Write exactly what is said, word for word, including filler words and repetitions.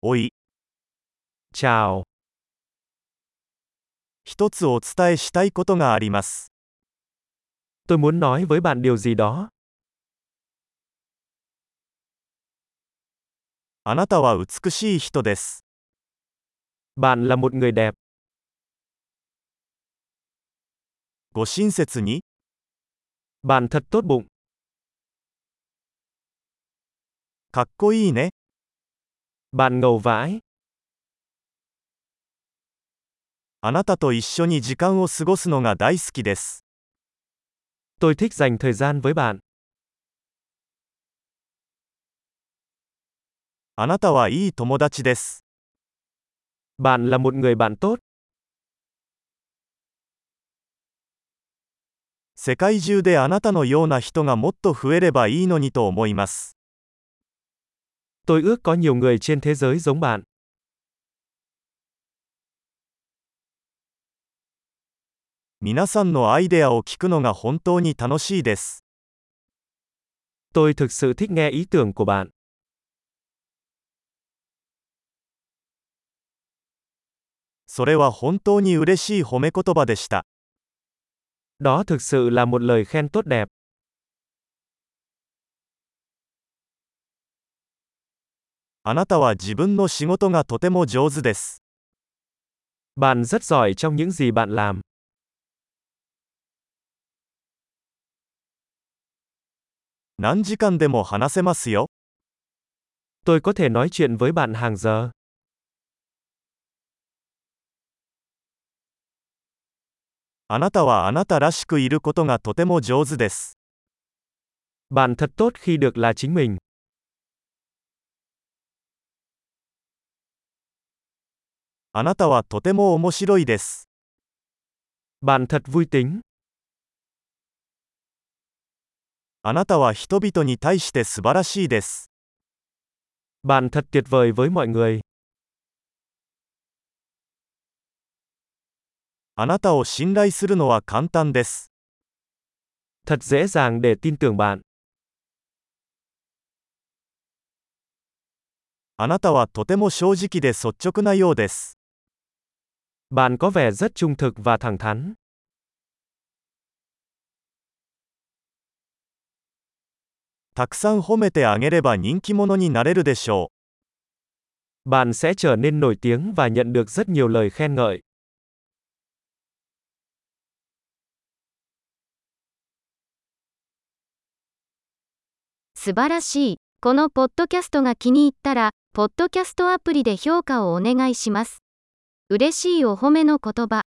おい、 Chào, 一つお伝えしたいことがあります。 tôi muốn nói với bạn điều gì đó. あなたは美しい人です。 Bạn là một người đẹp. ご親切に、 Bạn thật tốt bụng. かっこいいね。 Bạn ngầu vãi. あなたと一緒に時間を過ごすのが大好きです。 Tôi thích dành thời gian với bạn. あなたはいい友達です。 Bạn là một người bạn tốt. 世界中であなたのような人がもっと増えればいいのにと思います。 Tôi ước có nhiều người trên thế giới giống bạn. 皆さんのアイデアを聞くのが本当に楽しいです。 Tôi thực sự thích nghe ý tưởng của bạn. それは本当に嬉しい褒め言葉でした。 Đó thực sự là một lời khen tốt đẹp. あなたは自分の仕事がとても上手です。 Bạn rất giỏi trong những gì bạn làm. 何時間でも話せますよ。 Tôi có thể nói chuyện với bạn hàng giờ. あなたはあなたらしくいることがとても上手です。 Bạn thật tốt khi được là chính mình. あなたはとても面白いです。 Bạn thật vui tính. あなたは人々に対して素晴らしいです。 Bạn thật tuyệt vời với mọi người. あなたを信頼するのは簡単です。 Thật dễ dàng để tin tưởng bạn. あなたはとても正直で率直なようです。 Bạn có vẻ rất trung thực và thẳng thắn. たくさん褒めてあげれば人気者になれるでしょう。 Bạn sẽ trở nên nổi tiếng và nhận được rất nhiều lời khen ngợi. 素晴らしい。このポッドキャストが気に入ったら、ポッドキャストアプリで評価をお願いします。嬉しいお褒めの言葉。